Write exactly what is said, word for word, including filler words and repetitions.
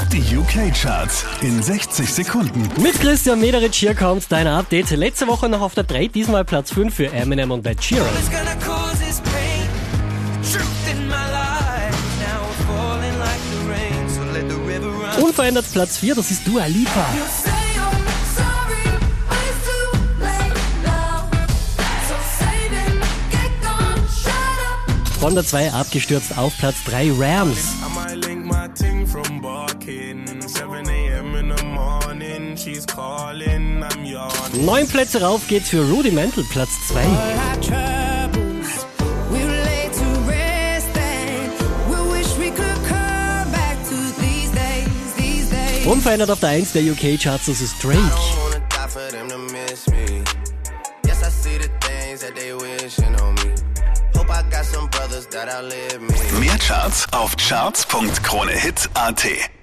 Die U K-Charts in sechzig Sekunden. Mit Christian Mederitsch hier kommt dein Update. Letzte Woche noch auf der drei, diesmal Platz fünf für Eminem und Ed Sheeran. Unverändert Platz vier, das ist Dua Lipa. Von der zwei abgestürzt auf Platz drei, Rams. Neun Plätze rauf geht's für Rudimental, Platz zwei. Unverändert auf der eins der U K-Charts, das ist Drake. Mehr Charts auf charts punkt kronehit punkt at.